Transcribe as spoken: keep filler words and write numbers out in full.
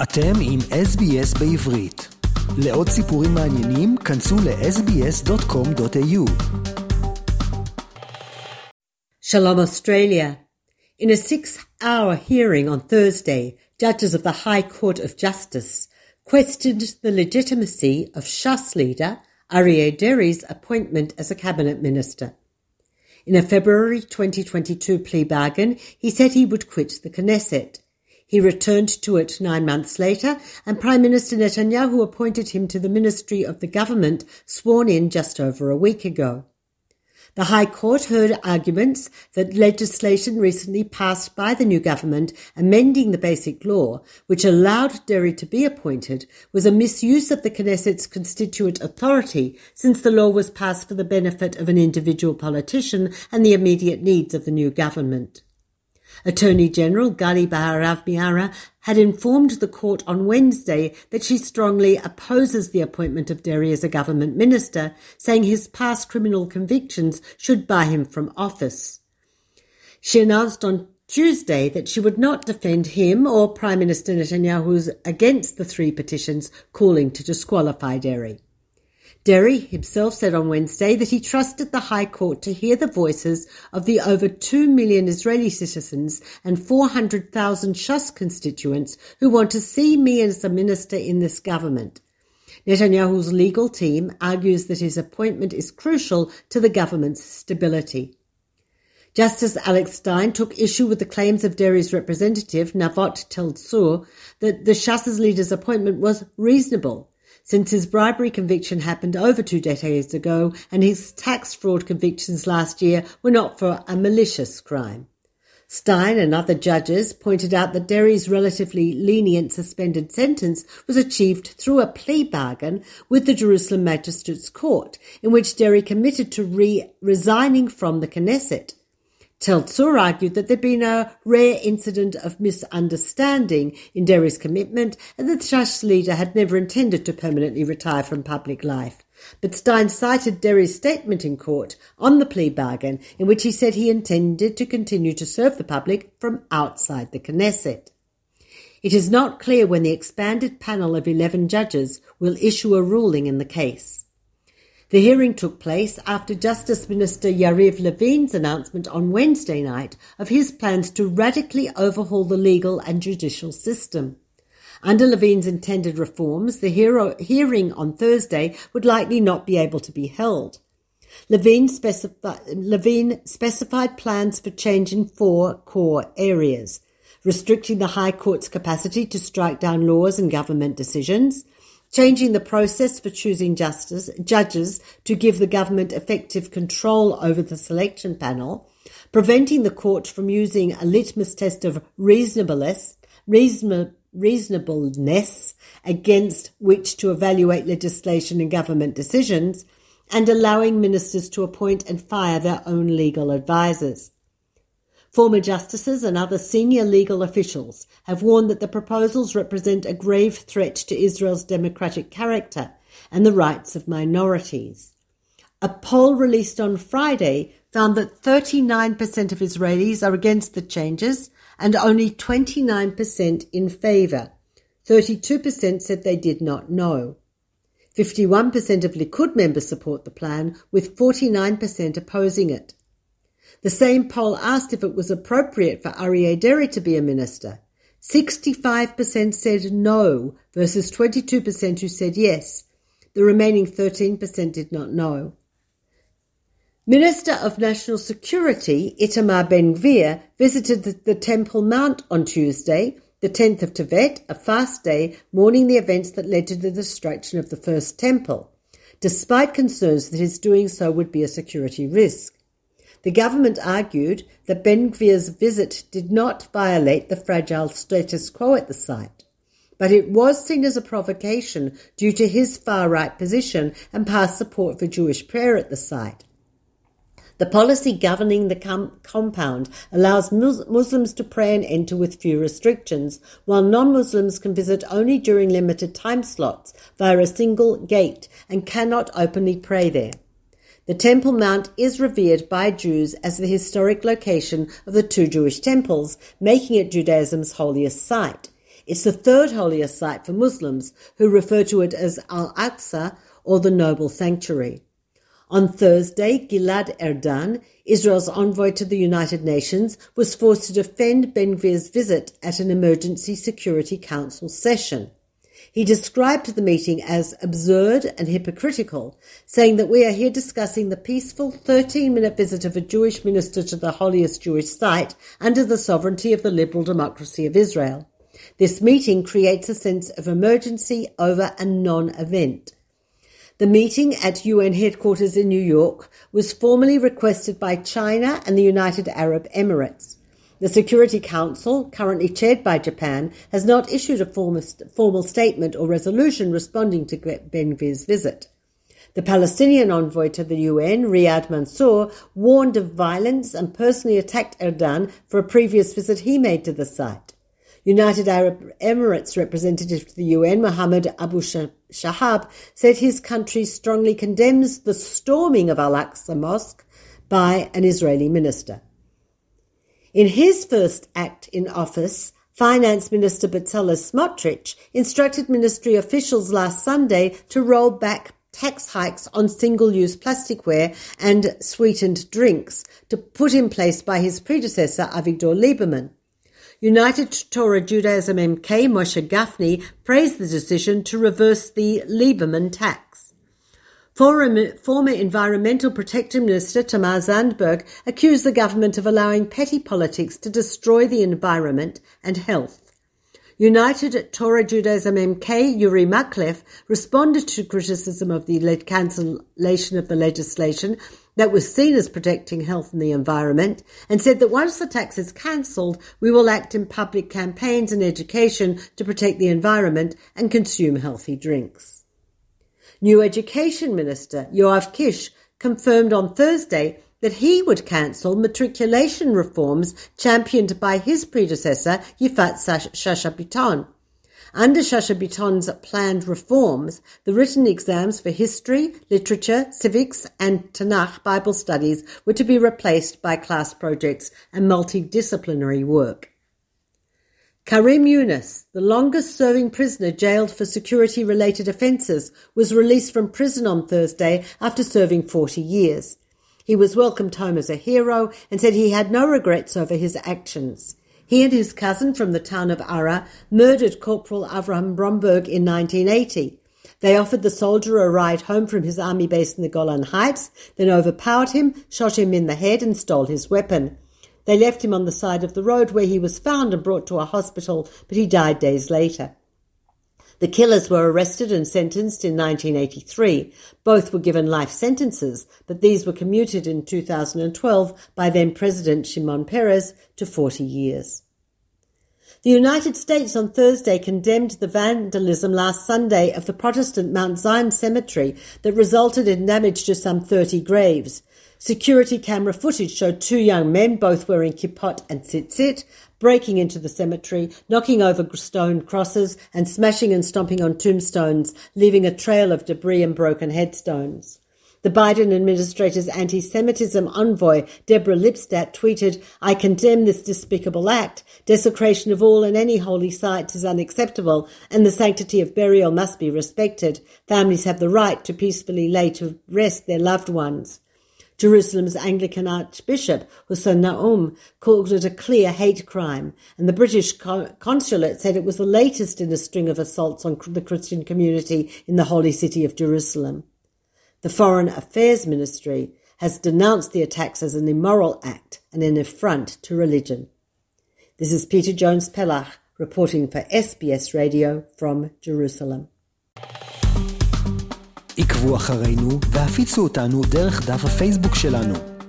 אתם עם אס בי אס בעברית. לעוד סיפורים מעניינים, כנסו ל-אס בי אס דוט קום דוט איי יו. Shalom Australia. In a six-hour hearing on Thursday, judges of the High Court of Justice questioned the legitimacy of Shas leader Aryeh Deri's appointment as a cabinet minister. In a February twenty twenty-two plea bargain, he said he would quit the Knesset. He returned to it nine months later, and Prime Minister Netanyahu appointed him to the ministry of the government, sworn in just over a week ago. The High Court heard arguments that legislation recently passed by the new government amending the Basic Law, which allowed Deri to be appointed, was a misuse of the Knesset's constituent authority, since the law was passed for the benefit of an individual politician and the immediate needs of the new government. Attorney General Gali Baharav Miara had informed the court on Wednesday that she strongly opposes the appointment of Deri as a government minister, saying his past criminal convictions should bar him from office. She announced on Tuesday that she would not defend him or Prime Minister Netanyahu against the three petitions calling to disqualify Deri. Deri himself said on Wednesday that he trusted the High Court to hear the voices of the over two million Israeli citizens and four hundred thousand Shas constituents who want to see me as a minister in this government. Netanyahu's legal team argues that his appointment is crucial to the government's stability. Justice Alex Stein took issue with the claims of Deri's representative, Navot Tel-Tzur, that the Shas leader's appointment was reasonable, since his bribery conviction happened over two decades ago and his tax fraud convictions last year were not for a malicious crime. Stein and other judges pointed out that Deri's relatively lenient suspended sentence was achieved through a plea bargain with the Jerusalem Magistrates Court, in which Deri committed to re- resigning from the Knesset. Tel-Tzur argued that there'd been a rare incident of misunderstanding in Deri's commitment and that the Shas leader had never intended to permanently retire from public life. But Stein cited Deri's statement in court on the plea bargain, in which he said he intended to continue to serve the public from outside the Knesset. It is not clear when the expanded panel of eleven judges will issue a ruling in the case. The hearing took place after Justice Minister Yariv Levin's announcement on Wednesday night of his plans to radically overhaul the legal and judicial system. Under Levin's intended reforms, the hero- hearing on Thursday would likely not be able to be held. Levin, specifi- Levin specified plans for change in four core areas: restricting the High Court's capacity to strike down laws and government decisions, changing the process for choosing justice, judges to give the government effective control over the selection panel, preventing the court from using a litmus test of reasonableness, reason, reasonableness against which to evaluate legislation and government decisions, and allowing ministers to appoint and fire their own legal advisers. Former justices and other senior legal officials have warned that the proposals represent a grave threat to Israel's democratic character and the rights of minorities. A poll released on Friday found that thirty-nine percent of Israelis are against the changes and only twenty-nine percent in favour. thirty-two percent said they did not know. fifty-one percent of Likud members support the plan, with forty-nine percent opposing it. The same poll asked if it was appropriate for Aryeh Deri to be a minister. sixty-five percent said no versus twenty-two percent who said yes. The remaining thirteen percent did not know. Minister of National Security Itamar Ben-Gvir visited the, the Temple Mount on Tuesday, the tenth of Tevet, a fast day, mourning the events that led to the destruction of the first temple, despite concerns that his doing so would be a security risk. The government argued that Ben-Gvir's visit did not violate the fragile status quo at the site, but it was seen as a provocation due to his far-right position and past support for Jewish prayer at the site. The policy governing the com- compound allows mus- Muslims to pray and enter with few restrictions, while non-Muslims can visit only during limited time slots via a single gate and cannot openly pray there. The Temple Mount is revered by Jews as the historic location of the two Jewish temples, making it Judaism's holiest site. It's the third holiest site for Muslims, who refer to it as Al-Aqsa or the Noble Sanctuary. On Thursday, Gilad Erdan, Israel's envoy to the United Nations, was forced to defend Ben-Gvir's visit at an Emergency Security Council session. He described the meeting as absurd and hypocritical, saying that we are here discussing the peaceful thirteen-minute visit of a Jewish minister to the holiest Jewish site under the sovereignty of the liberal democracy of Israel. This meeting creates a sense of emergency over a non-event. The meeting at U N headquarters in New York was formally requested by China and the United Arab Emirates. The Security Council, currently chaired by Japan, has not issued a formal statement or resolution responding to Ben-Gvir's visit. The Palestinian envoy to the U N, Riyad Mansour, warned of violence and personally attacked Erdan for a previous visit he made to the site. United Arab Emirates representative to the U N, Mohammed Abu Shahab, said his country strongly condemns the storming of Al-Aqsa Mosque by an Israeli minister. In his first act in office, Finance Minister Bezalel Smotrich instructed ministry officials last Sunday to roll back tax hikes on single-use plasticware and sweetened drinks to put in place by his predecessor Avigdor Lieberman. United Torah Judaism M K Moshe Gafni praised the decision to reverse the Lieberman tax. Former, former Environmental Protection Minister Tamar Zandberg accused the government of allowing petty politics to destroy the environment and health. United Torah Judaism M K Yuri Maklev responded to criticism of the cancellation of the legislation that was seen as protecting health and the environment, and said that once the tax is cancelled, we will act in public campaigns and education to protect the environment and consume healthy drinks. New Education Minister Yoav Kish confirmed on Thursday that he would cancel matriculation reforms championed by his predecessor, Yifat Shasha Biton. Under Shasha Biton's planned reforms, the written exams for history, literature, civics, and Tanakh Bible studies were to be replaced by class projects and multidisciplinary work. Karim Yunus, the longest-serving prisoner jailed for security-related offences, was released from prison on Thursday after serving forty years. He was welcomed home as a hero and said he had no regrets over his actions. He and his cousin from the town of Ara murdered Corporal Avraham Bromberg in nineteen eighty. They offered the soldier a ride home from his army base in the Golan Heights, then overpowered him, shot him in the head and stole his weapon. They left him on the side of the road where he was found and brought to a hospital, but he died days later. The killers were arrested and sentenced in nineteen eighty-three. Both were given life sentences, but these were commuted in two thousand twelve by then-President Shimon Peres to forty years. The United States on Thursday condemned the vandalism last Sunday of the Protestant Mount Zion Cemetery that resulted in damage to some thirty graves. Security camera footage showed two young men, both wearing kippot and tzitzit, breaking into the cemetery, knocking over stone crosses and smashing and stomping on tombstones, leaving a trail of debris and broken headstones. The Biden administrator's anti-Semitism envoy, Deborah Lipstadt, tweeted, "I condemn this despicable act. Desecration of all and any holy sites is unacceptable, and the sanctity of burial must be respected. Families have the right to peacefully lay to rest their loved ones." Jerusalem's Anglican Archbishop, Hussein Naum, called it a clear hate crime, and the British consulate said it was the latest in a string of assaults on the Christian community in the holy city of Jerusalem. The Foreign Affairs Ministry has denounced the attacks as an immoral act and an affront to religion. This is Peter Jones-Pellach reporting for S B S Radio from Jerusalem. עקבו אחרינו והפיצו אותנו דרך דף הפייסבוק שלנו.